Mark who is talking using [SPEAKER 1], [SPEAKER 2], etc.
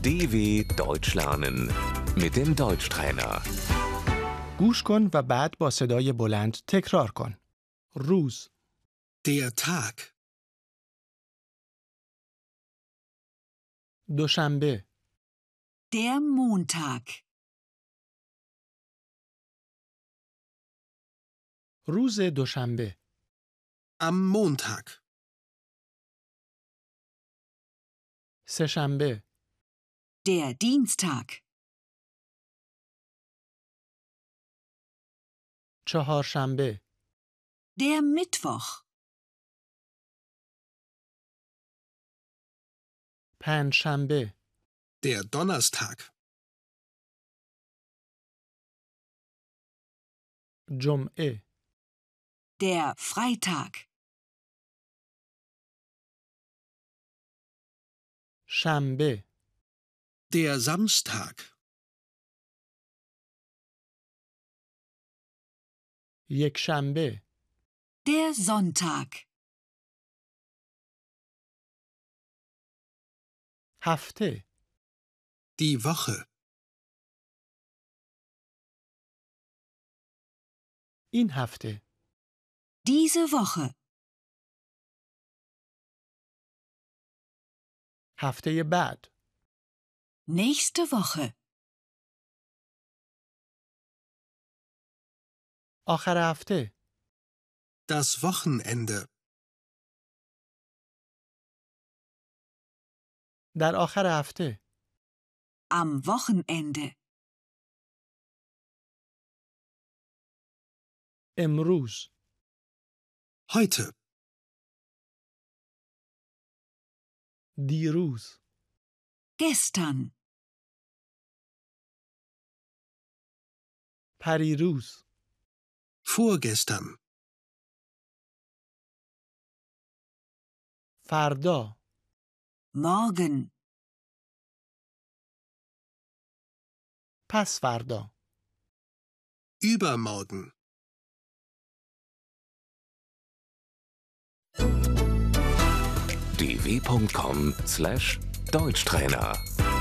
[SPEAKER 1] DW Deutsch lernen mit dem Deutschtrainer.
[SPEAKER 2] گوش کن و بعد با صدای بلند تکرار کن. روز،
[SPEAKER 3] Der Tag,
[SPEAKER 2] دوشنبه،
[SPEAKER 4] Der Montag.
[SPEAKER 2] روز دوشنبه،
[SPEAKER 3] am Montag,
[SPEAKER 2] سه‌شنبه،
[SPEAKER 4] Der Dienstag.
[SPEAKER 2] چهارشنبه،
[SPEAKER 4] Der Mittwoch.
[SPEAKER 2] پنجشنبه،
[SPEAKER 3] der Donnerstag,
[SPEAKER 2] جمعه،
[SPEAKER 4] Der Freitag.
[SPEAKER 2] شنبه،
[SPEAKER 3] der Samstag,
[SPEAKER 2] یکشنبه،
[SPEAKER 4] Der Sonntag.
[SPEAKER 2] هفته،
[SPEAKER 3] die Woche,
[SPEAKER 2] این هفته،
[SPEAKER 4] Diese Woche.
[SPEAKER 2] هفته بعد،
[SPEAKER 4] Nächste Woche.
[SPEAKER 2] آخر هفته،
[SPEAKER 3] das Wochenende,
[SPEAKER 2] در آخر هفته،
[SPEAKER 4] Am Wochenende.
[SPEAKER 2] امروز،
[SPEAKER 3] heute,
[SPEAKER 2] دیروز،
[SPEAKER 4] Gestern.
[SPEAKER 2] پریروز،
[SPEAKER 3] vorgestern,
[SPEAKER 2] فردا،
[SPEAKER 4] Morgen.
[SPEAKER 2] پس فردا،
[SPEAKER 3] übermorgen.
[SPEAKER 1] dw.com/Deutschtrainer